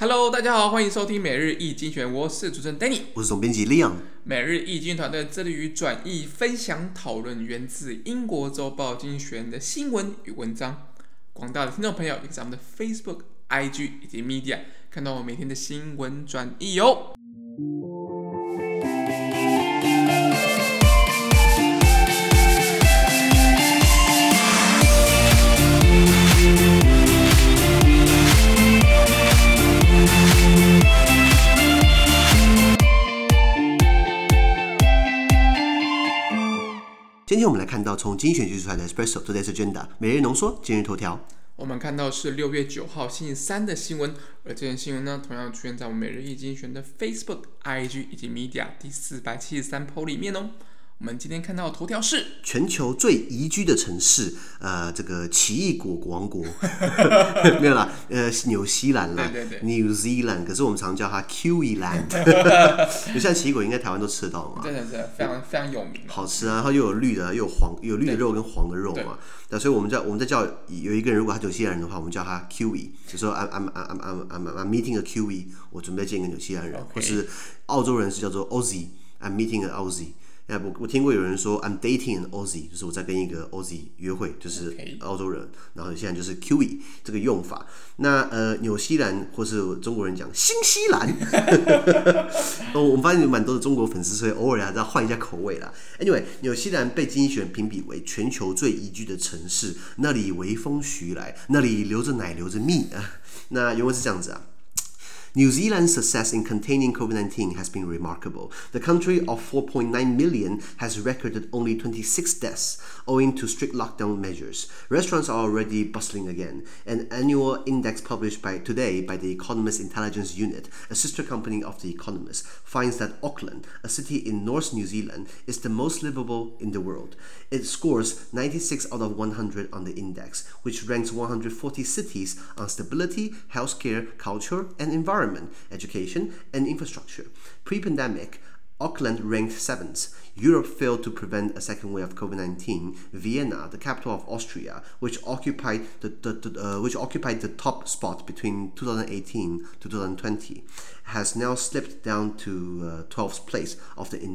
Hello， 大家好，歡迎收聽每日一精選，我是主持人 Danny， 我是總編輯 Leon。 每日一精選團隊致力於轉譯、分享、討論源自英國週報精選的新聞與文章。廣大的聽眾朋友也可以在我們的 Facebook、IG 以及 Media 看到我每天的新聞轉譯哦。 今天我們來看到從精選選出來的 Espresso Today's Agenda 每日濃縮今日頭條。 我們看到是6月9號星期三的新聞，而這件新聞呢，同樣出現在我們每日一精選的 Facebook、IG 以及 Media 第473 po 裡面哦。我們今天看到的頭條是全球最宜居的城市，這個奇異果王國沒有啦，紐西蘭啦， 對 New Zealand， 可是我們常叫它 Kiwi Land。就像奇異果应該台灣都吃得到嘛， 真的非常有名， 好吃啊，它又有綠的，又有黄，有綠的肉跟黃的肉嘛。那所以我们在叫有一個人，如果他紐西蘭人的話，我們叫他 Kiwi， 就說 I'm meeting a Kiwi， 我準備見一個紐西蘭人，或是澳洲人是叫做 Aussie，I'm meeting an Aussie。我聽過有人說 I'm dating an Aussie， 就是我在跟一個 Aussie 約會，就是澳洲人，然後現在就是 Kiwi 這個用法。那紐西蘭或是中國人講新西蘭，我們發現有蠻多的中國粉絲，所以偶爾還是要換一下口味啦。Anyway， 紐西蘭被經濟學人評比為全球最宜居的城市，那裡微風徐來，那裡流着奶流着蜜啊。那原文是這樣子啊。New Zealand's success in containing COVID-19 has been remarkable. The country of 4.9 million has recorded only 26 deaths, owing to strict lockdown measures. Restaurants are already bustling again. An annual index published today by the Economist Intelligence Unit, a sister company of The Economist, finds that Auckland, a city in North New Zealand, is the most livable in the world. It scores 96 out of 100 on the index, which ranks 140 cities on stability, healthcare, culture, and environment.Education and infrastructure. Pre-pandemic, Auckland ranked 7th. Europe failed to prevent a second wave of COVID-19. Vienna, the capital of Austria, which occupied the top spot between 2018 to 2020, has now slipped down to 12th place on the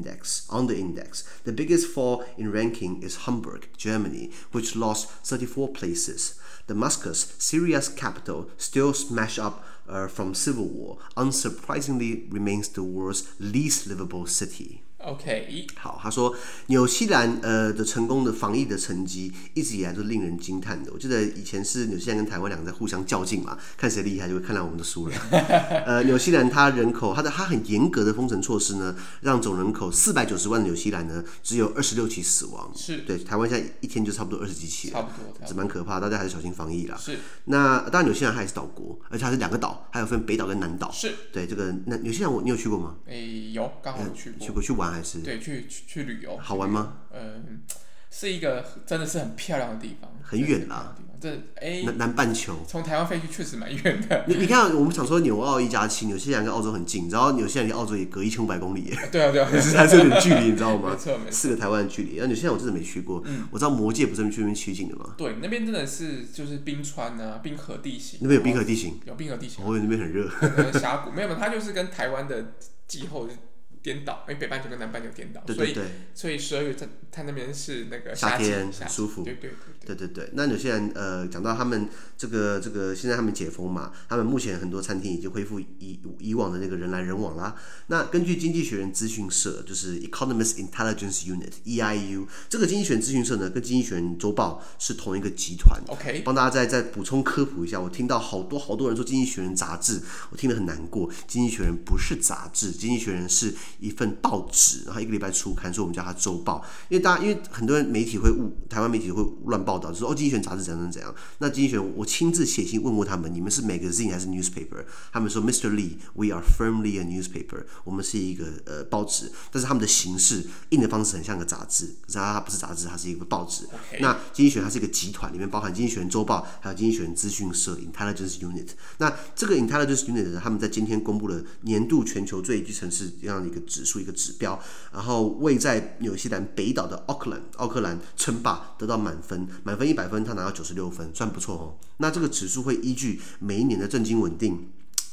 index. The biggest fall in ranking is Hamburg, Germany, which lost 34 places. Damascus, Syria's capital, still smashed up from civil war, unsurprisingly remains the world's least livable city. OK， 好，他說紐西蘭的成功的防疫的成績一直以來都令人驚嘆的。我記得以前是紐西蘭跟台灣兩個在互相較勁嘛，看誰厲害就會看來我們都輸了。紐西蘭它人口它很嚴格的封城措施呢，讓總人口490萬的紐西蘭呢只有26起死亡。是，對，台灣現在一天就差不多20幾起了，差不多，這蠻可怕，大家還是小心防疫啦。是，那當然紐西蘭它也是島國，而且它是2個島，還有分北島跟南島。是，對，這個那紐西蘭你有去過嗎？ 有，剛好去過， 去玩還是？ 對，去旅遊，好玩嗎？ 是一個真的是很漂亮的地方， 很遠啦。南半球， 從台灣飛去確實蠻遠的。 你看，我們想說紐澳1+7，紐西蘭跟澳洲很近，然後紐西蘭離澳洲也隔1500公里耶。對啊，還是有點距離，你知道嗎？沒錯，4個台灣的距離。紐西蘭我真的沒去過，我知道魔戒不是去那邊取景的嗎？對， 那邊真的是就是冰川啊，冰河地形。 那邊有冰河地形？ 有冰河地形。 我以為那邊很熱。 峽谷沒有，它就是跟台灣的氣候顛倒，因為北半球跟南半球顛倒，所以12月它那邊是那個夏天，很舒服。對。那紐西蘭講到他們這個現在他們解封嘛，他們目前很多餐廳已經恢復以往的那個人來人往啦。那根據經濟學人資訊社，就是 Economist Intelligence Unit (EIU) 這個經濟學人資訊社呢，跟經濟學人週報是同一個集團。OK， 幫大家再補充科普一下。我聽到好多人說經濟學人雜誌，我聽得很難過。經濟學人不是雜誌，經濟學人是一份報紙，然後1個禮拜出刊，所以我們叫它週報。因為很多人媒體會台灣媒體會亂報道，就說經濟學人雜誌怎樣。那經濟學人我親自寫信問過他們，你們是 magazine 還是 newspaper？ 他們說 Mr. Lee，we are firmly a newspaper。我們是一個報紙，但是他們的形式印的方式很像個雜誌，可是它不是雜誌，它是一個報紙。那經濟學人它是一個集團，裡面包含經濟學人週報，還有經濟學人資訊社 Intelligence Unit。那這個 Intelligence Unit 他們在今天公布了年度全球最宜居城市這樣的一個指數，一個指標，然後位在紐西蘭北島的奧克蘭稱霸，得到滿分100分，他拿到96分，算不錯哦。那這個指數會依據每一年的政經穩定、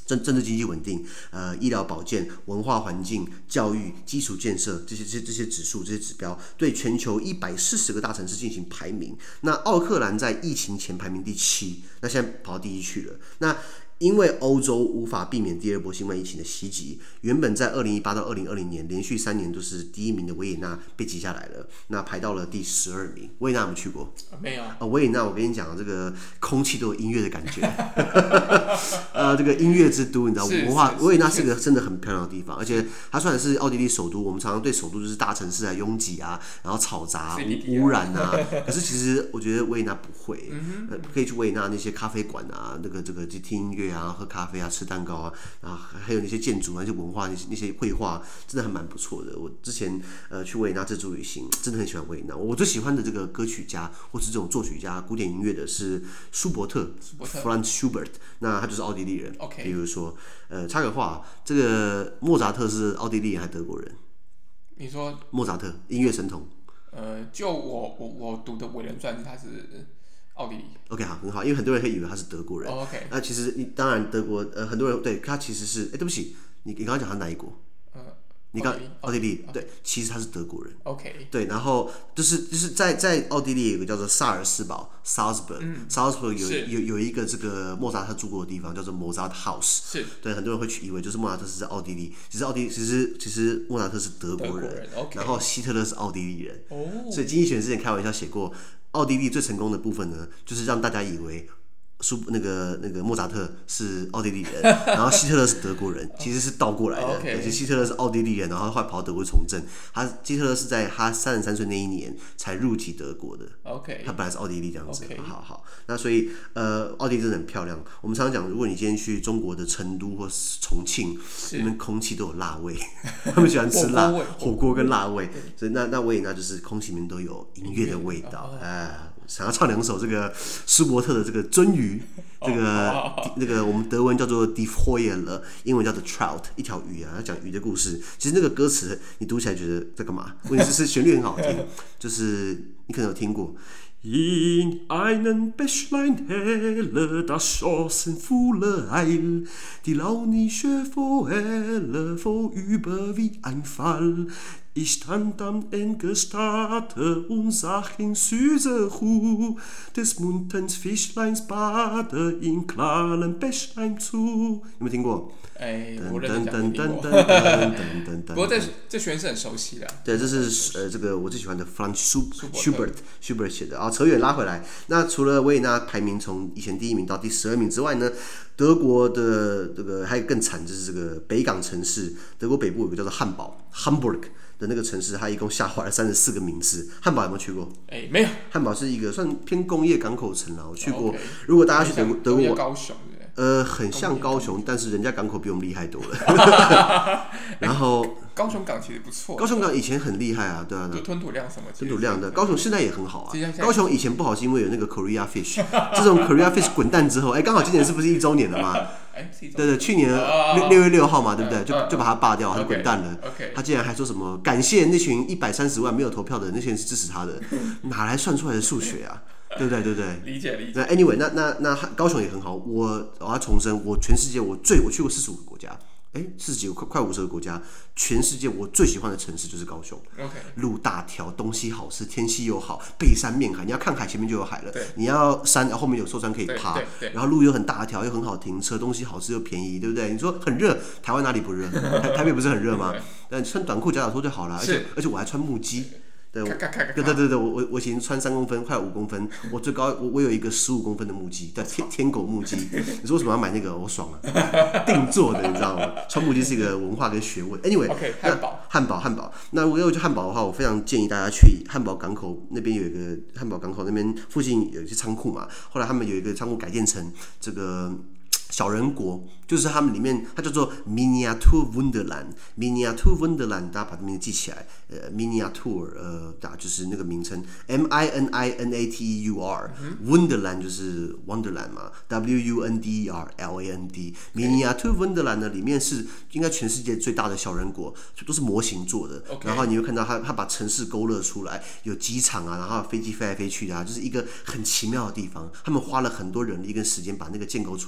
政治經濟穩定，醫療保健、文化環境、教育、基礎建設這些指數、這些指標，對全球140個大城市進行排名。那奧克蘭在疫情前排名第7，那現在跑到第1去了。那因為歐洲無法避免第2波新冠疫情的襲擊，原本在2018到2020年連續3年都是第1名的維也納被擠下來了，那排到了第12名。維也納有沒有去過？ 沒有。 維也納，我跟你講，這個空氣都有音樂的感覺。這個音樂之都，你知道，文化。維也納是個真的很漂亮的地方，而且它雖然是奧地利首都，我們常常對首都就是大城市啊、擁擠啊，然後嘈雜、污染啊。可是其實我覺得維也納不會，可以去維也納那些咖啡館啊，這個去聽音樂啊，喝咖啡啊，吃蛋糕啊，然後還有那些建築啊、那些文化、那些繪畫，真的還蠻不錯的。我之前去維也納自助旅行，真的很喜歡維也納。我最喜歡的這個歌曲家或是這種作曲家、古典音樂的是舒伯特 （Franz Schubert）， 那他就是奧地利人。比如說，插個話，這個莫扎特是奧地利人還是德國人？ 你說莫扎特音樂神童？ 就我讀的《伟人傳》，他是奧地利。 OK， 好，很好，因為很多人會以為他是德國人。 OK， 那其實當然德国很多人对他其實是，對不起，你剛剛講他哪一國？你剛奧地利，对，其實他是德國人。 OK， 对，然後就是在奧地利有一個叫做薩爾斯堡 （Salzburg），Salzburg 有一個這個莫扎特住過的地方叫做 Mozart House。是，對，很多人會以為就是莫扎特是在奧地利，其實莫扎特是德國人，然後希特勒是奧地利人。所以经濟學人之前開玩笑寫過，奧地利最成功的部分呢，就是讓大家以為那個莫扎特是奧地利人，然後希特勒是德國人，其實是倒過來的。對，希特勒是奧地利人，然後後來跑到德國從政。希特勒是在他33歲那一年才入籍德國的。他本來是奧地利這樣子。好，那所以奧地利真的很漂亮。我們常常講，如果你今天去中國的成都或是重慶，那邊空氣都有辣味，他們喜歡吃辣火鍋跟辣味。所以那維也納就是空氣裡面都有音樂的味道。想要唱2首這個舒伯特的這個鱒魚，這個我們德文叫做 Die Forelle， 英文叫做 Trout， 一條魚啊，要講魚的故事。其實那個歌詞你讀起來覺得在幹嘛？問題是旋律很好聽，就是你可能有聽過。In einem Bächlein helle, das schoss in voller Eil, die launische Forelle vorüber wie ein Fall. Ich stand am Engestade und sah in süßer Ruhe des munterns Fischleins Bade in klarem Bächlein zu。有沒有聽過？ 我認真講聽過。不過這旋律是很熟悉的。對，這是這個我最喜歡的 Franz Schubert 寫的啊。扯遠拉回來，那除了維也納排名從以前第1名到第12名之外呢，德國的這個還有更慘，就是這個北港城市，德國北部有個叫做漢堡 （Hamburg） 的那個城市，它一共下滑了34個名次。漢堡有沒有去過？沒有。漢堡是一個算偏工業港口城啦，我去過。如果大家去德國， 高雄很像高雄，但是人家港口比我們厲害多了。然後高雄港其實不錯。 高雄港以前很厲害啊，对啊。 吞吐量什麼？ 吞吐量的，高雄现在也很好啊。高雄以前不好是因為有那個 Korea Fish， 這種 Korea Fish 滾蛋之後，剛好今年是不是1週年了嘛？對，去年6月6號嘛，對不對？就把它罷掉，它就滾蛋了。他竟然還說什麼感謝那群130萬沒有投票的那些人是支持他的，哪來算出來的數學啊？對不對？理解。那 anyway， 那高雄也很好。我要重申，我全世界我去過45個國家，40幾個快50個國家，全世界我最喜歡的城市就是高雄。路大條，東西好吃，天氣又好，背山面海，你要看海前面就有海了。你要山，後面有壽山可以爬。然後路又很大條，又很好停車，東西好吃又便宜，對不對？你說很熱，台灣哪裡不熱？台北不是很熱嗎？但穿短褲夾腳拖就好了。而且我還穿木屐。對，我以前穿3公分，快5公分，我最高我有一個15公分的木屐，對，天狗木屐。你說為什麼要買那個？我爽啊，定做的，你知道嗎？穿木屐是一個文化跟學問。Anyway， 漢堡。那如果要去漢堡的話，我非常建議大家去漢堡港口那邊有一個漢堡港口那邊附近有一些倉庫嘛，後來他們有一個倉庫改建成這個小人國，就是他們裡面它叫做 Miniatur Wunderland，Miniatur Wunderland， 大家把這名字記起來。Miniatur 就是那個名稱 ，Miniatur，Wunderland 就是 Wonderland 嘛 ，Wunderland。Miniatur Wunderland 呢，裡面是應該全世界最大的小人國，都是模型做的。然後你會看到它把城市勾勒出來，有機場啊，然後飛機飛來飛去的啊，就是一個很奇妙的地方。他們花了很多人力跟時間把那個建構出來的一個小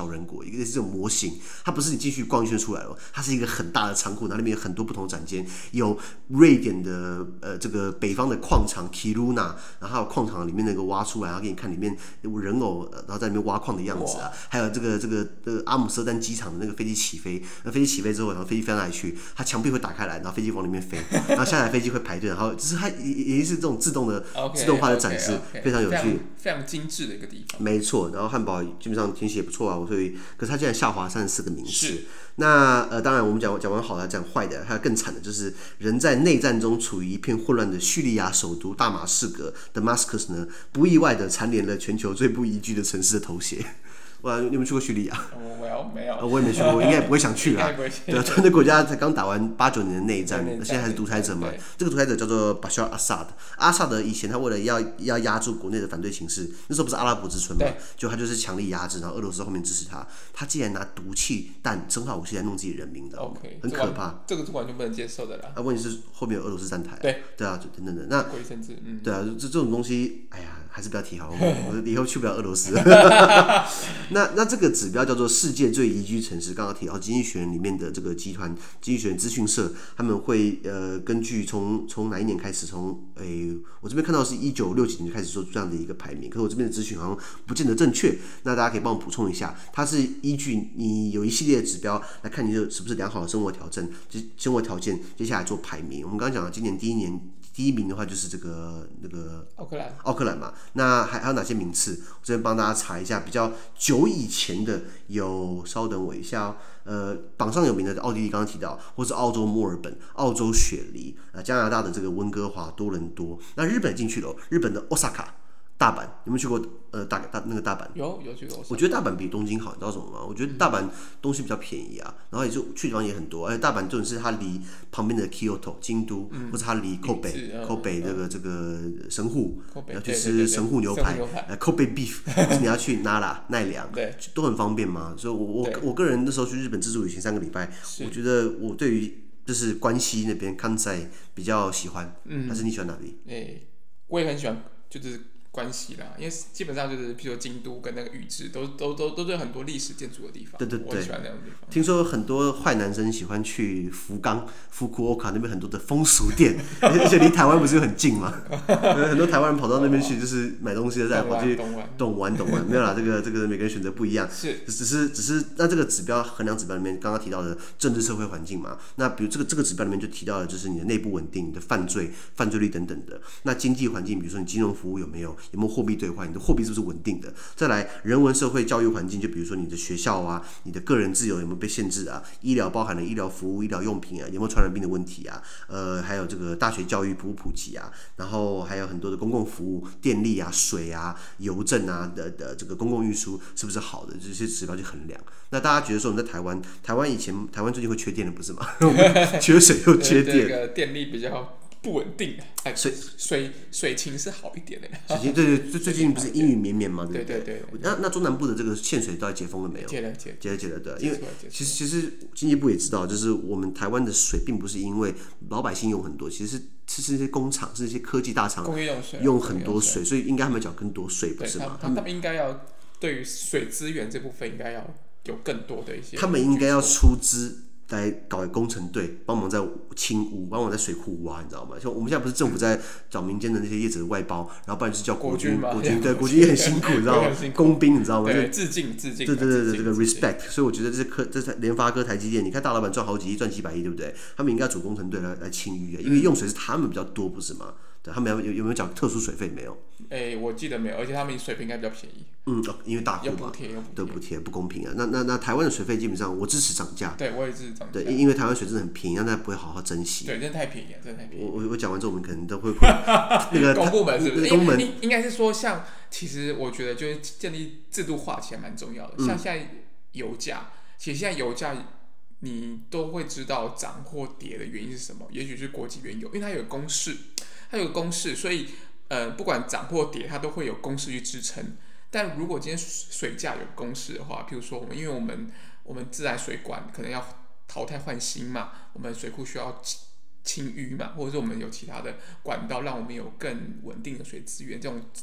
小人國，一個是這種模型，它不是你進去逛一圈出来了，它是一個很大的倉庫，然後裡面有很多不同的展间，有瑞典的這個北方的礦場 Kiruna， 然後還有礦場裡面那個挖出來，然後給你看裡面有人偶，然後在裡面挖礦的樣子啊，還有這個阿姆斯特丹機場的那個飛機起飛，那飛機起飛之後，然後飛機飛到哪裡去，它牆壁會打開來，然後飛機往裡面飛，然後下來飛機會排隊，然後就是它也是这種自动化的展示，非常有趣， 非常精緻的一個地方。 沒錯，然後漢堡基本上天氣也不錯啊，所以可是它竟然下滑34個名次。那當然我們講完好的，講壞的，還有更慘的就是人在內戰中處於一片混亂的敘利亞首都大馬士革 Damascus 呢，不意外的蟬聯了全球最不宜居的城市的頭銜。哇，你有没有去過敘利亞？ 沒有， 我也沒去過，我應該也不會想去啦。對啊，那國家才剛打完89年的內戰，現在還是獨裁者嘛。這個獨裁者叫做 Bashar Assad。阿薩德以前他為了要壓住國內的反對情勢，那時候不是阿拉伯之春嘛，就他就是強力壓制，然後俄羅斯後面支持他。他竟然拿毒氣彈、生化武器來弄自己人民的，很可怕。 這個是完全不能接受的啦。 问題是后面有俄羅斯站台，对啊，等等的。那对啊，这种東西，哎呀，還是不要提好，我以後去不了俄羅斯。那這個指標叫做世界最宜居城市。剛剛提到《經濟學人》裡面的這個集團，《經濟學人》資訊社，他們會根據從哪一年開始，我這邊看到是1960幾年就開始做這樣的一個排名，可是我這邊的資訊好像不見得正確。那大家可以幫我補充一下，它是依據你有一系列的指標來看你是不是良好的生活條件，接下來做排名。我們剛剛講了今年第一名的話就是這個那個奧克蘭嘛，那還有哪些名次？我這邊幫大家查一下，比較久以前的有，稍等我一下榜上有名的奧地利剛剛提到，或是澳洲墨爾本、澳洲雪梨，加拿大的這個溫哥華、多倫多，那日本進去了，日本的 Osaka。大阪有沒有去過？那個大阪有去過。 我覺得大阪比東京好，你知道什麼嗎？我覺得大阪東西比較便宜啊，然後也就去的地方也很多。而且大阪重點是它離旁邊的 Kyoto 京都，或者它離 Kobe 這個神戶，你要去吃神戶牛排，Kobe beef， 或是你要去奈良，都很方便嘛。所以我個人那時候去日本自助旅行3個禮拜，我覺得我對於就是關西那邊関西比較喜歡。還是你喜歡哪裡？ 我也很喜歡，就是關係啦，因為基本上就是，譬如說京都跟那個宇治，都是很多歷史建築的地方。對，我很喜歡那樣的地方。聽說很多壞男生喜歡去福岡、福庫歐卡那邊很多的風俗店，而且離台灣不是很近嘛？很多台灣人跑到那邊去，就是買東西再跑去懂玩。沒有啦，這個每個人選擇不一樣。只是那這個指標衡量指標裡面剛剛提到的政治社會環境嘛，那比如這個指標裡面就提到的就是你的內部穩定、你的犯罪率等等的。那經濟環境，比如說你金融服務有沒有貨幣兌換，你的貨幣是不是穩定的？再來人文社會教育環境，就比如說你的學校啊，你的個人自由有沒有被限制啊？醫療包含了醫療服務、醫療用品啊，有沒有傳染病的問題啊？還有這個大學教育普及啊，然後還有很多的公共服務、電力啊、水啊、郵政啊的這個公共運輸是不是好的？這些指標去衡量。那大家覺得說我們在台灣台灣最近會缺電了不是嗎？缺水又缺電， 這個電力比較不穩定，水情是好一點的。 水情对，最近不是陰雨綿綿嗎？ 对。 那中南部的這個限水到底解封了沒有？解了，對。因為其實經濟部也知道，就是我們台灣的水並不是因為老百姓用很多，其實是那些工廠，是那些科技大廠用很多水，所以應該他們繳更多稅，不是嗎？ 他們應該要對於水資源這部分應該要有更多的一些， 他們應該要出資來搞工程隊，幫忙在清污，幫忙在水庫挖，你知道嗎？像我們現在不是政府在找民間的那些業者的外包，然後不然就是叫國軍，對，國軍也很辛苦，你知道嗎？工兵，你知道嗎？ 對，致敬。對， 這個 respect。所以我覺得這聯發科、台積電，你看大老闆賺好幾億，賺幾百億，對不對？他們應該組工程隊來清淤，因為用水是他們比較多，不是嗎？對，他們有沒有繳特殊水費？沒有。 我記得沒有，而且他們水費應該比較便宜。 因為大戶嘛，有補貼，不公平啊。那台灣的水費基本上我支持漲價。 對，我也支持漲價。 對，因為台灣水真的很便宜，讓大家不會好好珍惜。 對，真的太便宜了， 我講完之後，我們可能都會那個公部门是不是？ 公门應該是說，像其實我覺得就是建立制度化起來蠻重要的。像現在油價，其實現在油價你都會知道漲或跌的原因是什麼？也許是國際原油，因為它有公式，所以不管漲或跌，它都會有公式去支撐。但如果今天水價有公式的話，譬如說因為我們自來水管可能要淘汰換新嘛，我們水庫需要清淤嘛，或者是我們有其他的管道讓我們有更穩定的水資源，這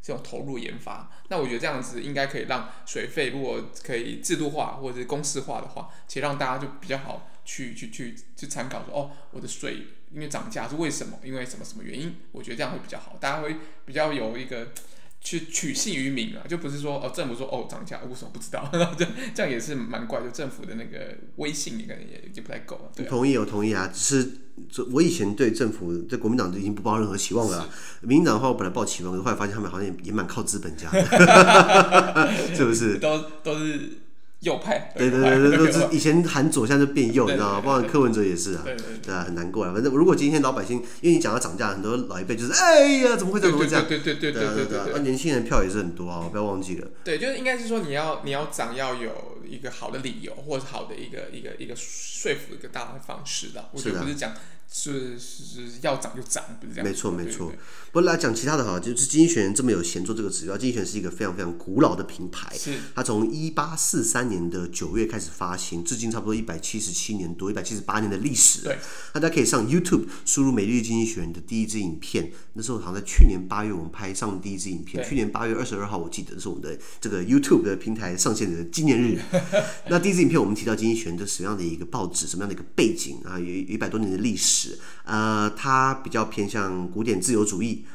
這種投入研發。那我覺得這樣子應該可以讓水費如果可以制度化或者是公式化的話，其實讓大家就比較好去參考說，我的水因為漲價是為什麼？因為什麼什麼原因？我覺得這樣會比較好，大家會比較有一個去取信於民啊，就不是說政府說漲價，我為什麼不知道？這樣也是蠻怪，就政府的那個威信可能也不太夠。對啊， 我同意啊，只是我以前對政府对國民黨已經不抱任何期望了啦。民進黨的話，我本來抱期望，後來發現他們好像也蠻靠資本家的，是不是？ 都是右派。 对，都是以前喊左，现在就变右，你知道嗎？包括柯文哲也是啊，对啊，很難過啊。反正如果今天老百姓，因為你講到漲價，很多老一輩就是哎呀，怎麼會這樣？對，年輕人票也是很多啊，不要忘記了。对， 就是應該是說你要漲，要有一個好的理由，或者好的一個說服一個大的方式啦。我覺得不是講。是要漲就漲，不是這樣。 沒錯。不過來講其他的哈，就是經濟學人這麼有閒做這個指標。經濟學人是一個非常非常古老的品牌，它從1843年的9月開始發行，至今差不多177年多、178年的歷史。對，大家可以上 YouTube 輸入每日經濟學人的第一支影片，那時候好像在去年8月我們拍上第一支影片，去年8月22號我記得是我們的這個 YouTube 的平台上線的紀念日。那第一支影片我們提到經濟學人這什麼樣的一個報紙，什麼樣的一個背景啊，有100多年的歷史。它比較偏向古典自由主義，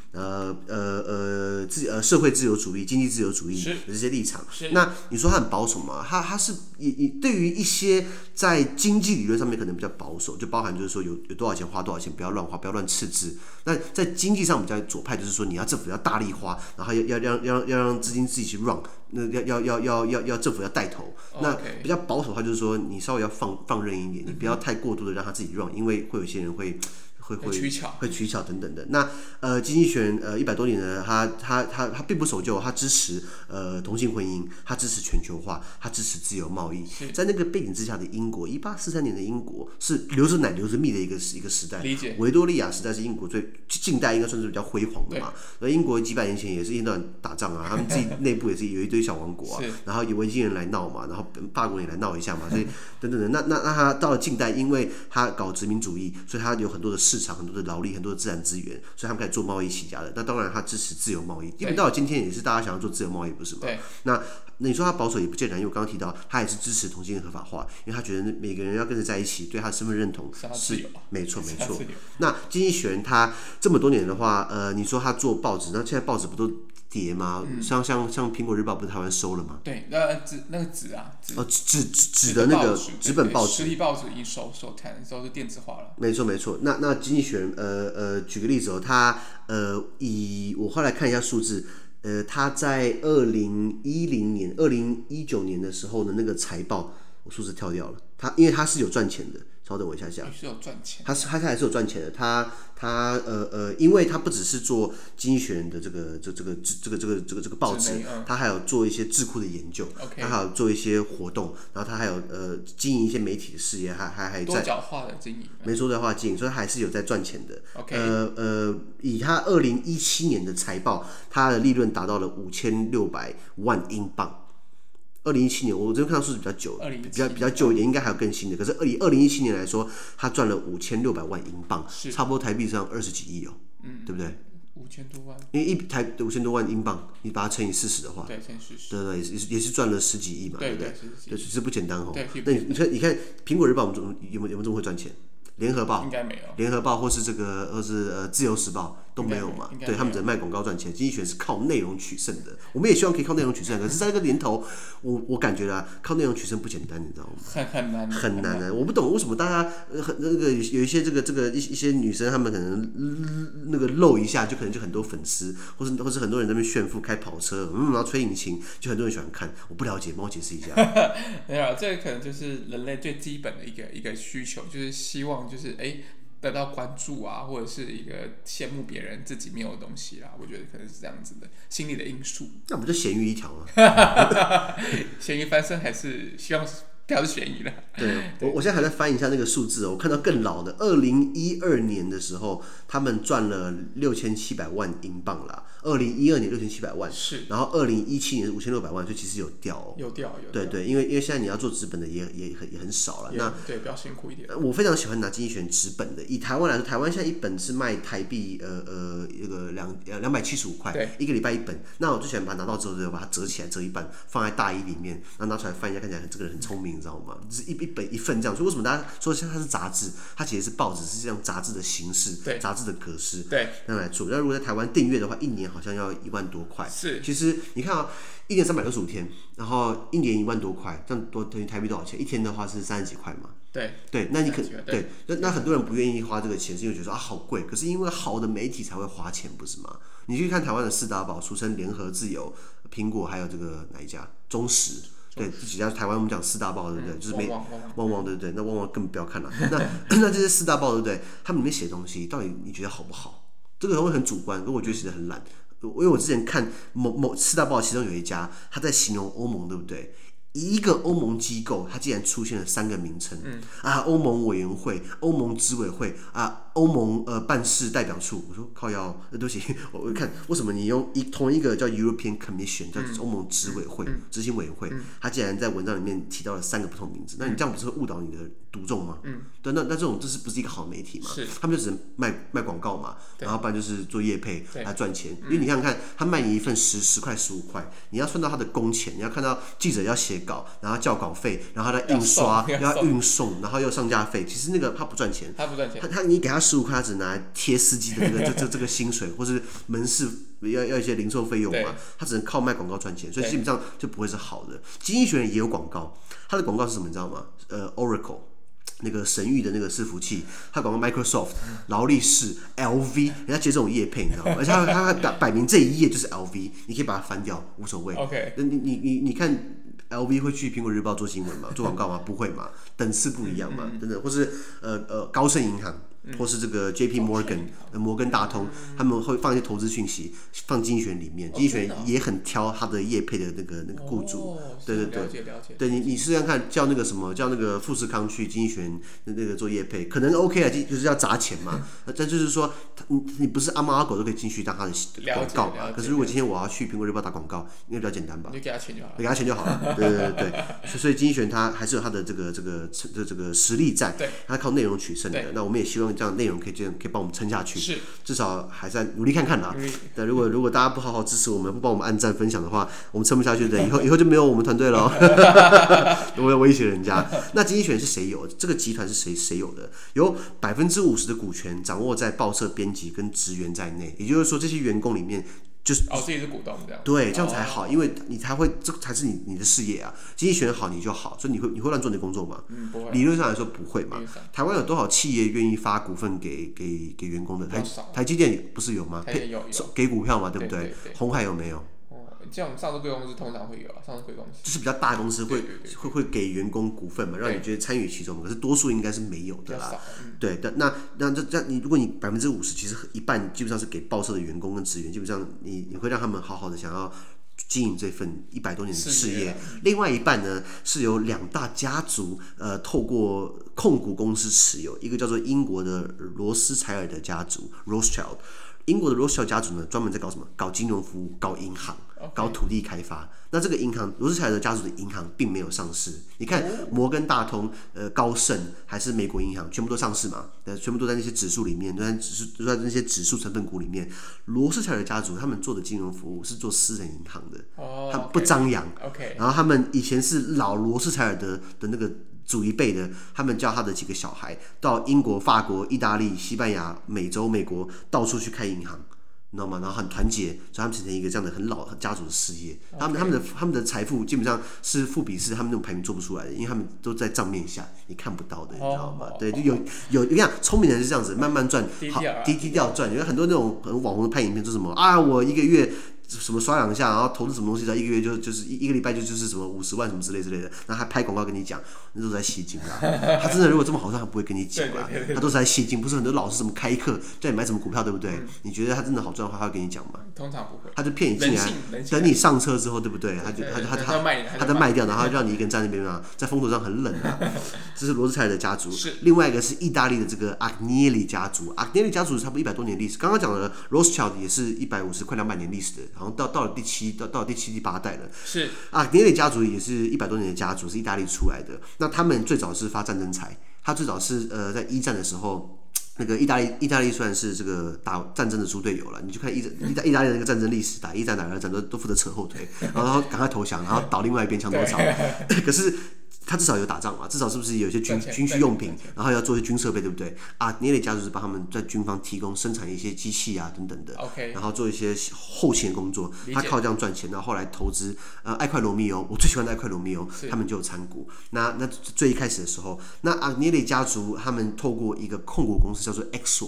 社會自由主義、經濟自由主義的這些立場。那你說它很保守嗎？它是對於一些在經濟理論上面可能比較保守，就包含就是說有多少錢花多少錢，不要亂花，不要亂赤字。那在經濟上比較左派，就是說你要政府要大力花，然後要讓資金自己去 run， 那要政府要帶頭。那比較保守的話就是說你稍微要放任一點，你不要太過度的讓他自己 run，因為会有些人会取巧等等的。那经濟學人100多年呢，他並不守舊，他支持同性婚姻，他支持全球化，他支持自由貿易。在那個背景之下的英國，1843年的英國是流着奶流着蜜的一個時代。維多利亞時代是英國最近代应該算是比較輝煌的嘛。而英國幾百年前也是一段打仗啊，他們自己內部也是有一堆小王國啊，然後有維京人來鬧嘛，然後法國人也來鬧一下嘛，所以等等的。那他到了近代，因為他搞殖民主義，所以他有很多的市场、很多的勞力、很多的自然資源，所以他們開始做貿易起家的。那當然他支持自由貿易，因為到了今天也是大家想要做自由貿易，不是嗎？那你說他保守也不盡然，因為我剛剛提到他也是支持同性戀合法化，因為他覺得每個人要跟着在一起，對他的身份認同是沒錯。那經濟學人他這麼多年的話，你說他做報紙，那现在報紙不都跌吗？像蘋果日報不是台灣收了嗎？ 對，那個紙啊， 紙的那個紙本報紙， 實體報紙已經收摊，都是電子化了。 没錯。那經濟學人舉個例子他我後來看一下數字。他在2010年、2019年的時候的那個財報，我數字跳掉了。因為他是有賺錢的，稍等我一下。 是有賺錢。他還是有賺錢的。他因為他不只是做經濟學人的這個報紙，他還有做一些智庫的研究，他還有做一些活動，然後他還有經營一些媒體的事業，還多角化的經營， 沒錯，多角化經營，所以他還是有在賺錢的。以他2017年的財報，他的利潤達到了5600萬英鎊。2017年，我這邊看到數字比較久，比較舊一點，應該還有更新的。可是以2017年來說，他賺了5600萬英鎊，差不多台幣上20幾億哦，對不對？5000多萬，因為5000多萬英鎊，你把它乘以40的話，對，也是賺了10幾億嘛，对不对？对，其實不簡單哦。那你看，蘋果日報有沒有這麼會賺錢？聯合報應該沒有，聯合報或是自由時報都沒有嘛，對，他們只能賣廣告賺錢。經濟學是靠內容取勝的，我們也希望可以靠內容取勝，可是在這個年頭，我感覺靠內容取勝不簡單，你知道嗎？很難的。我不懂為什麼大家有一些一些女生，她們可能露一下就可能就很多粉絲，或是很多人在那邊炫富開跑車，然後吹引擎，就很多人喜歡看。我不了解，幫我解釋一下。 沒有，這個可能就是人類最基本的一個需求，就是希望就是得到關注啊，或者是一個羨慕別人自己沒有的東西啦。我覺得可能是這樣子的心理的因素。 那不就鹹魚一條嗎？ 鹹魚翻身還是希望掉是便宜了。 對，我現在還在翻一下那個數字哦，我看到更老的，2012年的时候，他們賺了6700萬英鎊啦。2012年6700萬， 是， 然後2017年5600万，所以其實有掉哦。 有掉。 对，因為現在你要做紙本的也很少了。那對，比較辛苦一點。 我非常喜歡拿經濟學人紙本的。以台灣來說，台灣現在一本是賣台幣那個275塊，一個禮拜一本。那我最喜歡把它拿到之後，就把它折起來，折一半，放在大衣裡面，然後拿出來翻一下，看起來這個人很聰明，你知道嗎？就是一本一份這樣。所以為什麼大家說像它是雜誌？它其實是報紙，是這樣雜誌的形式，雜誌的格式，這樣來做。那如果在台灣訂閱的話，一年好像要1萬多塊。 是， 其實你看啊，一年365天，然後一年1萬多塊，這樣多等於台幣多少錢？一天的話是30幾塊嘛。对，那你那很多人不願意花這個錢，是因為覺得說啊好貴。可是因為好的媒體才會花錢，不是嗎？你去看台灣的4大報，俗稱聯合、自由、蘋果，還有這個哪一家？中時。對，這幾家台灣我們講4大報，對不對？就是旺旺，对不對？那旺旺根本不要看了。那這些4大報，對不對？他們裡面寫東西，到底你覺得好不好？這個會很主觀，可我覺得寫得很爛。因為我之前看某4大報，其中有一家他在形容歐盟，對不對？一個歐盟機構，它竟然出現了3個名稱，歐盟委員會、歐盟執委會歐盟辦事代表處。我說靠腰，對不起，我看為什麼你用同一個叫 European Commission， 叫歐盟執委會、執行委員會，它竟然在文章裡面提到了3個不同名字，那你這樣不是會誤導你的讀眾嗎？對，那這種這不是一個好媒體嘛？他們就只能賣廣告嘛，然後不然就是做業配來賺錢。因為你想想看，他賣你一份10塊15塊，你要算到他的工錢，你要看到記者要寫稿，然後交稿費，然後他印刷要運送，然後又上架費，其實那個他不賺錢，你給他15塊，他只拿來貼司機的那個這個薪水，或是門市要一些零售費用嘛，他只能靠賣廣告賺錢，所以基本上就不會是好的。經濟學人也有廣告，他的廣告是什麼你知道嗎？Oracle 那個神諭的那個伺服器，他廣告 Microsoft、勞力士、LV， 人家接這種業配你知道嗎？而且他擺明這一頁就是 LV， 你可以把它翻掉無所謂。OK， 你看。LV 會去蘋果日報做新聞嗎？做廣告嗎？不會嘛，等次不一樣嘛，等等，或是高盛銀行，或是這個 JP Morgan 摩根大通，他們會放一些投資訊息放經濟學人裡面，經濟學人也很挑他的業配的那個雇主，對，對你試試看叫那個什麼叫那個富士康去經濟學人那個做業配，可能 OK 啊，就是要砸錢嘛，但就是說你不是阿貓阿狗都可以進去當他的廣告嘛，可是如果今天我要去蘋果日報打廣告，應該比較簡單吧？你給他錢就好了，對，所以經濟學人他還是有他的這個實力在，他靠內容取勝的。那我們也希望這樣內容可以幫我們撐下去，至少還在努力看看啦。但如果大家不好好支持我們，不幫我們按讚分享的話，我們撐不下去的，以後就沒有我們團隊了。我要威脅人家。那經濟學人是誰有？這個集團是誰有的？有50%的股權掌握在報社編輯跟職員在內，也就是說這些員工裡面。就是自己是股東這樣， 對，這樣才好，因為你才會，這才是你的事業啊。經濟學人好你就好，所以你會亂做你的工作嗎？ 不會。 理論上來說不會嘛。台灣有多少企業願意發股份給員工的？台積電不是有嗎？ 有給股票嘛，對不對？鴻海有沒有？ 這種上市貴公司通常會有上市貴公司就是比較大的公司會給員工股份嘛，讓你覺得參與其中。可是多數應該是沒有的啦。對，那這你如果你50%，其實一半基本上是給報社的員工跟職員，基本上你會讓他們好好的想要經營這份100多年的事業。另外一半呢是由2大家族透過控股公司持有，一個叫做英國的羅斯柴爾的家族 Rothschild。英國的 Rothschild 家族呢，專門在搞什麼？搞金融服務，搞银行，搞土地開發。那這個銀行，羅斯柴爾德家族的銀行並沒有上市。你看，摩根大通、高盛還是美國銀行，全部都上市嘛？全部都在那些指數裡面，都在那些指数成分股裡面。羅斯柴爾德家族他們做的金融服務是做私人銀行的，他們不張揚。然後他們以前是老羅斯柴爾德的那個。祖一輩的，他們叫他的幾個小孩到英國、法國、意大利、西班牙、美洲、美國到處去開銀行，你知道嗎？然後很團結，所以他們形成一個這樣的很老家族的事業。他們的財富基本上是富比士他們那種排名做不出來的，因為他們都在賬面下你看不到的，你知道嗎？对，就有你看聰明人是這樣子慢慢賺，好低調賺。有很多那種很網紅的拍影片，說什麼啊，我一個月什麼刷2下，然後投資什麼東西，在1個月就是一個禮拜就是什麼50萬什麼之類的，然後還拍廣告跟你講，那都是在吸金啦。他真的如果這麼好賺，他不會跟你講啦，他都是在吸金。不是很多老師什麼開課叫你買什麼股票，對不对？你覺得他真的好賺的話，他會跟你講嗎？通常不會，他就騙你進來，等你上車之後，對不對？他再賣掉，然後讓你一個人在那邊嘛，在風頭上很冷啊。這是羅斯柴爾德家族，另外一個是意大利的這個阿格涅里家族。阿格涅里家族差不多100多年歷史，剛剛講的 Rothschild 也是150快200年歷史的，好像到了第7第8代了。是阿格涅里家族也是100多年的家族，是意大利出來的。那他們最早是發戰爭財，他最早是在1戰的時候。那個意大利雖然是這個打戰爭的豬隊友了，你去看意大利的那個戰爭歷史，打1戰打2戰都負責扯後腿，然後趕快投降，然後倒另外一邊牆頭草。可是他至少有打仗嘛，至少是不是有些軍需用品，然後要做一些軍設備，對不對？阿涅里家族是幫他們在軍方提供生產一些機器啊等等的，然後做一些後勤的工作，他靠這樣賺錢，然后後來投資艾快羅密歐，我最喜歡的艾快罗密歐，他們就有參股。那最一開始的時候，那阿涅里家族他們透過一個控股公司叫做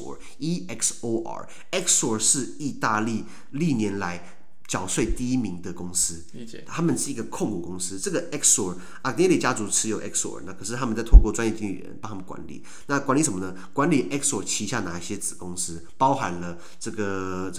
Exor，EXOR 是意大利歷年來繳稅第1名的公司，他們是一個控股公司。這個 Exor 阿涅里家族持有 Exor， 那可是他們在透過專業經理人幫他們管理。那管理什麼呢？管理 Exor 旗下哪一些子公司，包含了這個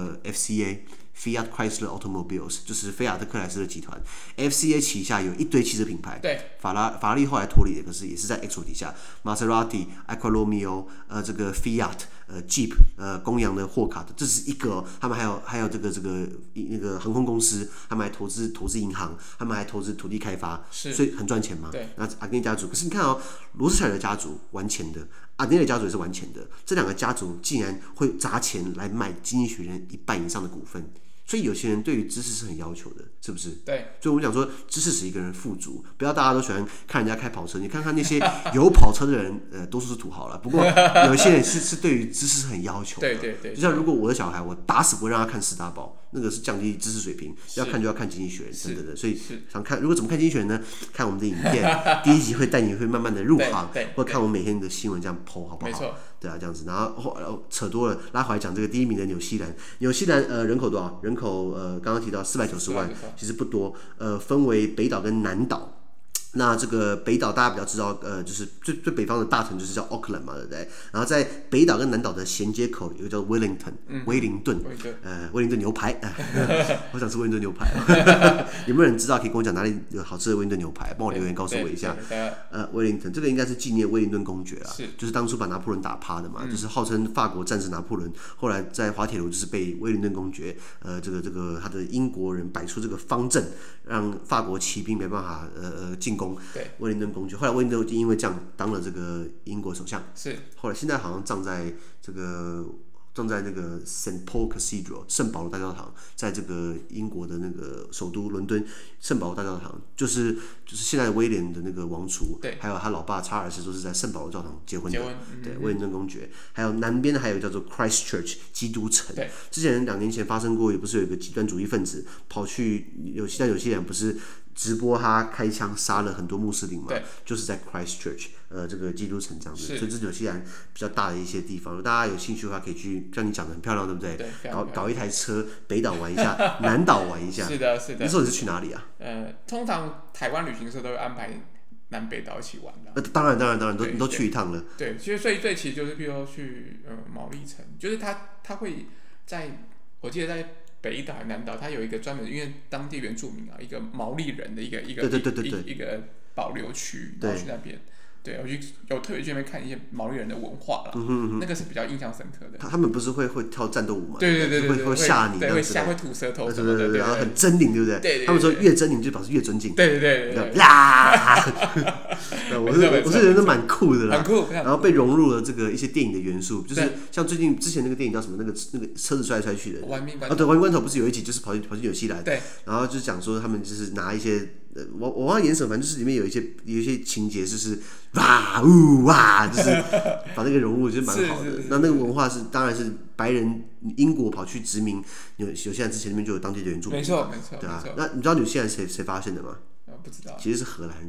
FCA。Fiat Chrysler Automobiles 就是菲亞特克萊斯勒集團 ，FCA 旗下有一堆汽車品牌，对，法拉利後來脫離的，可是也是在 Exor 底下 ，Maserati、艾快羅密歐，這個 Fiat、Jeep，公羊的霍卡的，這是一個、他們還有這個那個航空公司，他們還投資銀行，他們還投資土地開發，所以很賺錢嘛。對，那阿涅里家族，可是你看哦，羅斯柴爾德家族玩錢的，阿涅里家族也是玩錢的，這2個家族竟然會砸錢來買《經濟學人》1半以上的股份。所以有些人對於知識是很要求的，是不是？对。所以我們講說，知識使一個人富足，不要大家都喜歡看人家開跑車。你看看那些有跑車的人，多數是土豪了。不過有一些人是对於知識是很要求的。对。就像如果我的小孩，我打死不會讓他看4大報，那個是降低知識水平。要看就要看經濟學人等等的。所以想看，如果怎麼看經濟學人呢？看我們的影片，第1集會帶你會慢慢的入行，或者看我們每天的新聞這樣 po 好不好？沒錯。對啊，這樣子，然後扯多了，拉回來講這個第1名的紐西蘭。紐西蘭人口多少？人口剛剛提到490萬，其實不多。分為北島跟南島。那這個北島大家比較知道，就是最北方的大城就是叫 Auckland 嘛，对不对？然後在北島跟南島的銜接口有一個叫 Wellington， 威靈頓牛排，我想吃威靈頓牛排。有沒有人知道可以跟我講哪裡有好吃的威靈頓牛排？幫我留言告訴我一下。威靈頓這個應該是紀念威靈頓公爵啦，就是當初把拿破崙打趴的嘛，就是號稱法國戰勝拿破崙，後來在滑鐵盧就是被威靈頓公爵，這個他的英國人擺出這個方陣，讓法國騎兵沒辦法進攻。威靈頓公爵，後來威靈頓就因為這樣當了這個英國首相。是，後來現在好像葬在那個 St. Paul Cathedral 聖保羅大教堂，在這個英國的那個首都倫敦聖保羅大教堂，就是現在的威廉的那個王儲，還有他老爸查爾斯都是在聖保羅教堂結婚的。對，威靈頓公爵。還有南邊的還有叫做 Christchurch 基督城。之前2年前發生過，也不是有一個極端主義分子跑去紐西蘭不是直播他開槍殺了很多穆斯林嘛？就是在 Christchurch 這個基督城這樣子，所以這是紐西蘭比較大的一些地方。如果大家有興趣的話，可以去，像你講的很漂亮，對不對？搞一台車，北島玩一下，南島玩一下。是的。那時候你是去哪裡啊？ 通常台灣旅行社都會安排南北島一起玩的。 當然，你都去一趟了。 對，其實最其實就是譬如說去毛利城，就是他會我記得在北島、南島，它有一個專門，因為當地原住民一個毛利人的一個保留區，然後去那邊。对，我有特別去那邊看一些毛利人的文化啦，那個是比較印象深刻的。他們不是會跳戰鬥舞嗎？ 對， 會嚇你， 會吐舌頭什麼的， 然後很猙獰，對不对？对。他們說越猙獰就表示越尊敬。 對。 啦！我是覺得蠻酷的啦，很酷。然後被融入了這個一些電影的元素，就是像之前那個電影叫什麼？那個車子摔來摔去的。玩命關頭。對，玩命關頭不是有一集就是跑去紐西蘭，對，然後就是講說他們就是拿一些。我忘了演什麼，反正就是裡面有一些情節，就是哇嗚哇，就是把那個融入，就是蠻好的。那個文化当然是白人英國跑去殖民紐西蘭之前，那邊就有當地的原住民。沒錯。對啊，那你知道紐西蘭誰發現的嗎？不知道。其實是荷蘭人。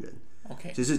OK， 就是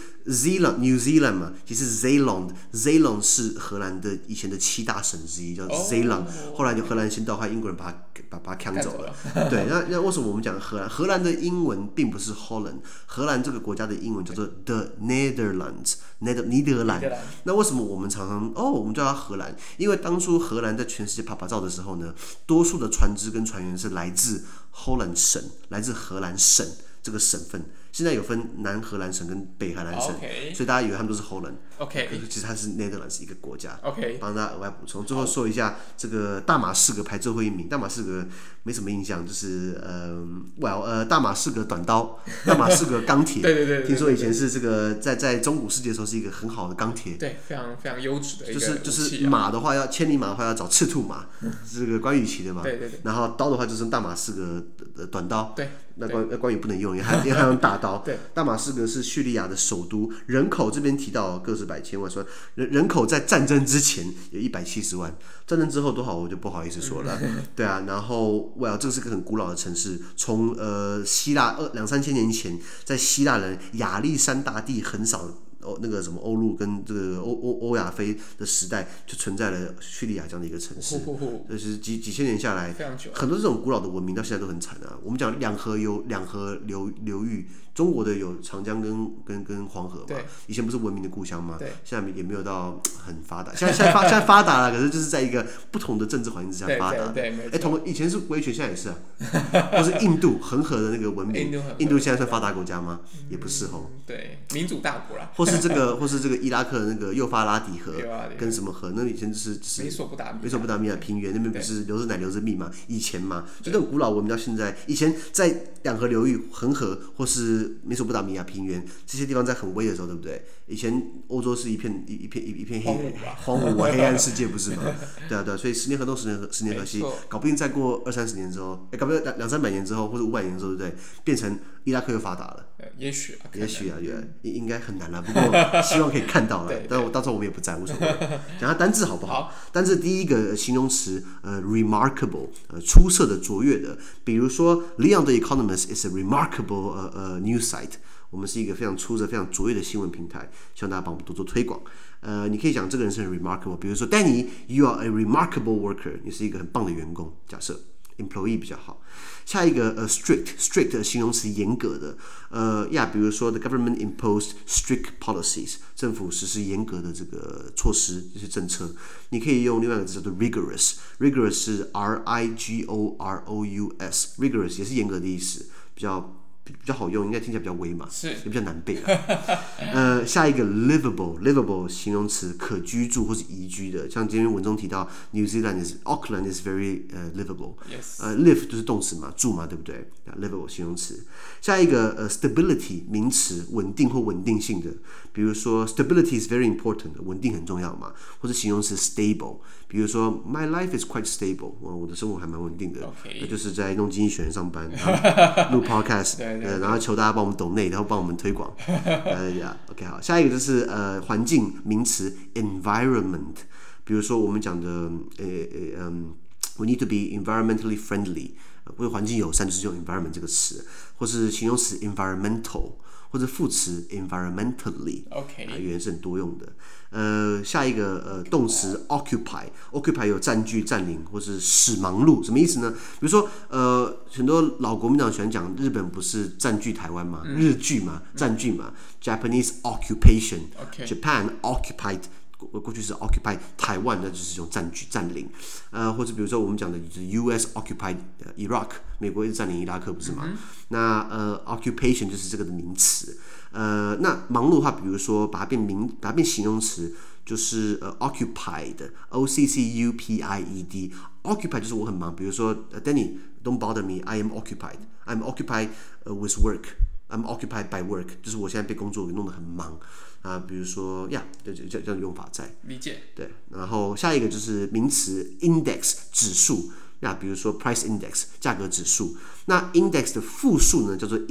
New Zealand 嘛，其實 Zeeland 是荷蘭的以前的7大省之一，叫 Zeeland，後來就荷蘭先到，後來英國人把它搶走了。对，那為什麼我們講荷蘭？荷蘭的英文並不是 Holland， 荷蘭這個國家的英文叫做 The Netherlands， 尼德蘭。那為什麼我們常常我們叫它荷蘭？因為當初荷蘭在全世界拍照的時候呢，多數的船只跟船員是來自 Holland 省，來自荷蘭省這個省份。现在有分南荷蘭省跟北荷蘭省，所以大家以為他們都是 Holland， 其實它是 Netherlands 一個國家。幫大家額外補充。最後說一下這個大馬士革排最後一名，大馬士革沒什麼印象，就是大馬士革短刀，大馬士革鋼鐵。對，聽說以前是這個在中古世界的時候是一個很好的鋼鐵。 對，非常非常優質的一個武器。 就是馬的話千里馬的話要找赤兔馬，這個關羽騎的嘛。对。然後刀的話就是大馬士革的短刀。对。那關羽不能用，因為他用大刀。大馬士革是敘利亞的首都，人口這邊提到個十百千萬，說人口在戰爭之前有170萬，戰爭之後多少我就不好意思說了。對啊，然後這是個很古老的城市，從希臘2-3千年前，在希臘人亞歷山大帝橫掃那個什麼歐陸跟這個歐亞非的時代，就存在了敘利亞這樣的一個城市。就是幾千年下來，很多這種古老的文明到現在都很慘啊。我們講兩河流域，中國的有長江跟黃河嘛，以前不是文明的故鄉嗎？現在也沒有到很發達，現在發達了，可是就是在一個不同的政治環境之下發達。以前是威权，現在也是啊。或是印度恆河的那個文明，印度现在算發達國家嗎？也不是吼。 對，民主大國啦。或是這個伊拉克的那個幼發拉底河跟什麼河？那以前就是美索不達米亞平原那邊不是流着奶流着蜜嘛？以前嘛，就那種古老文明到現在，以前在兩河流域、恆河或是美索不達米亞平原這些地方在很威的時候，對不對？以前歐洲是一片荒蕪黑暗世界，不是嗎？對啊，所以10年河東10年河西，搞不定再過20-30年之後，搞不定200-300年之後或者500年之後，對不对？變成伊拉克又发达了。 也許啊， 應該很難了，不過希望可以看到了。但到時候我們也不在，無所謂。講下單字好不好？單字第一個形容詞remarkable， 出色的、卓越的。比如說 ，Leon the Economist is a remarkable news site。我們是一個非常出色、非常卓越的新聞平台，希望大家幫我們多做推廣。你可以講這個人是很 remarkable， 比如說 Danny，you are a remarkable worker， 你是一個很棒的員工。假設 employee 比較好。下一個strict 的形容詞嚴格的，比如說 the government imposed strict policies， 政府實施嚴格的這個措施，這些政策。你可以用另外一個字叫做 rigorous 是 rigorous，rigorous 也是嚴格的意思，比較好用，应该听起来比较威嘛，也比较難背啦。下一個 livable 形容詞，可居住或是宜居的，像今天文中提到 New Zealand Auckland is very livable。live 就是動詞嘛，住嘛，對不對？ livable 形容詞。下一個stability 名詞，穩定或穩定性的，比如說 stability is very important， 穩定很重要嘛，或者形容詞 stable， 比如說 my life is quite stable， 我的生活還蠻穩定的，那就是在弄經濟學人上班，錄 podcast。然後求大家幫我們donate，然後幫我們推廣。OK 好，下一個就是環境名詞 environment， 比如說我們講的we need to be environmentally friendly， 為環境友善就是用 environment 這個詞，或是形容詞 environmental， 或者副詞 environmentally， 語言是很多用的。下一個動詞 occupy 有佔據、佔領或是使忙碌，什麼意思呢？比如說很多老國民黨喜歡講日本不是佔據台灣嗎？日據嘛，佔據嘛。Japanese occupation，Japan occupied， 過去是 occupy 台灣，那就是用佔據、佔領。或者比如說我們講的就是 U.S. occupied Iraq， 美國一直佔領伊拉克，不是嗎？那occupation 就是這個的名詞。那忙碌的話，比如說把它變形容詞，就是 occupied， occupied， occupy 就是我很忙。比如說 Danny don't bother me， I am occupied with work，I'm occupied by work， 就是我现在被工作給弄得很忙啊。比如說这樣的用法在理解。对， 然後下一個就是名詞 index 指數。比如說 price index 價格指數。那 index 的複數呢叫做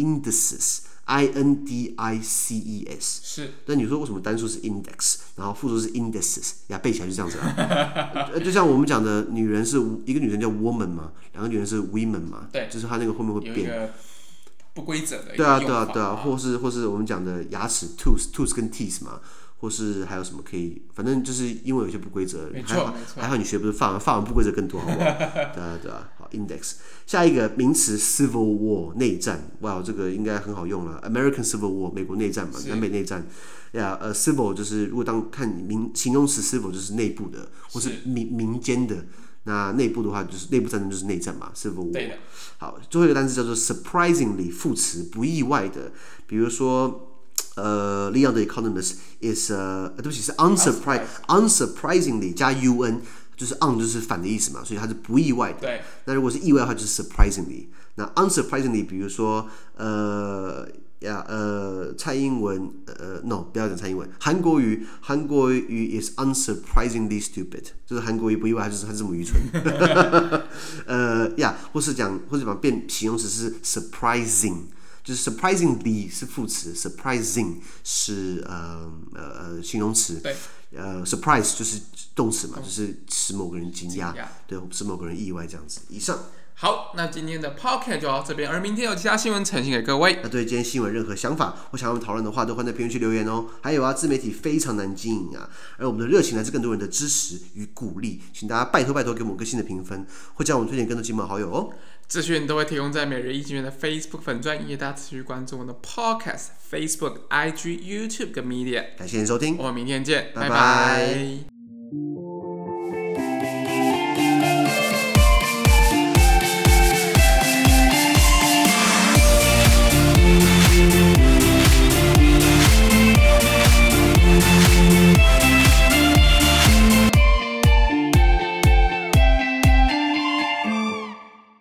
indices。indices 是，但你說為什麼單數是 index， 然後複數是 indices， 背起來就這樣子啦。就像我們講的，女人是一個女人叫 woman 嘛，兩個女人是 women 嘛，對，就是她那個後面會變。 不規則的一個用法。 對啊，或是我們講的牙齒 tooth 跟 teeth 嘛。或是還有什麼可以，反正就是英文有些不規則，還好你學不是法文不規則更多，好不好？对啊，好 index。下一個名詞 Civil War 內戰，哇，這個應該很好用了 ，American Civil War 美國內戰嘛，南北內戰。Civil 就是如果看形容詞 Civil 就是內部的，或是民間的。那內部的話就是內部戰爭就是內戰嘛 ，Civil War。對的。好，最後一個單詞叫做 surprisingly 副詞，不意外的，比如說。Leon the Economist is 对不起是 unsurprisingly 加 un 就是 un 就是反的意思嘛，所以它是不意外的。对。那如果是意外的話就是 surprisingly。那 unsurprisingly 比如說蔡英文no 不要講蔡英文，韓國瑜 is unsurprisingly stupid， 就是韓國瑜不意外，它是這麼愚蠢。或是講變形容詞是 surprising。就是 surprisingly 是副詞 ，surprising 是形容詞。对。surprise 就是动詞嘛，就是使某個人驚訝，對，使某個人意外這樣子。以上。 好，那今天的 podcast 就到這邊，而明天有其他新聞呈現給各位。 那對今天新聞任何想法或想要我們討論的話，都歡迎在評論區留言哦。還有啊，自媒體非常難經營啊，而我們的熱情來自更多人的支持與鼓勵，請大家拜託給我們個新的評分，或將我們推薦更多親朋好友哦。 資訊都會提供在每日一經院的 Facebook 粉專，也大家持續關注我們的 Podcast、Facebook、IG、YouTube 跟 Media。 感謝您收聽， 我們明天見，拜拜。